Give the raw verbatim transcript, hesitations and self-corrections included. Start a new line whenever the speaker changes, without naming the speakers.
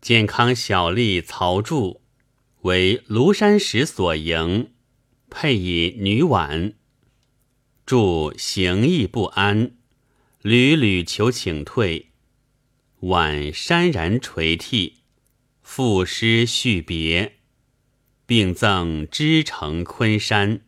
健康小吏曹著为庐山石所迎，配以女婉。著行意不安，屡屡求请退。婉潸然垂涕，赋诗续别，并赠知城昆山。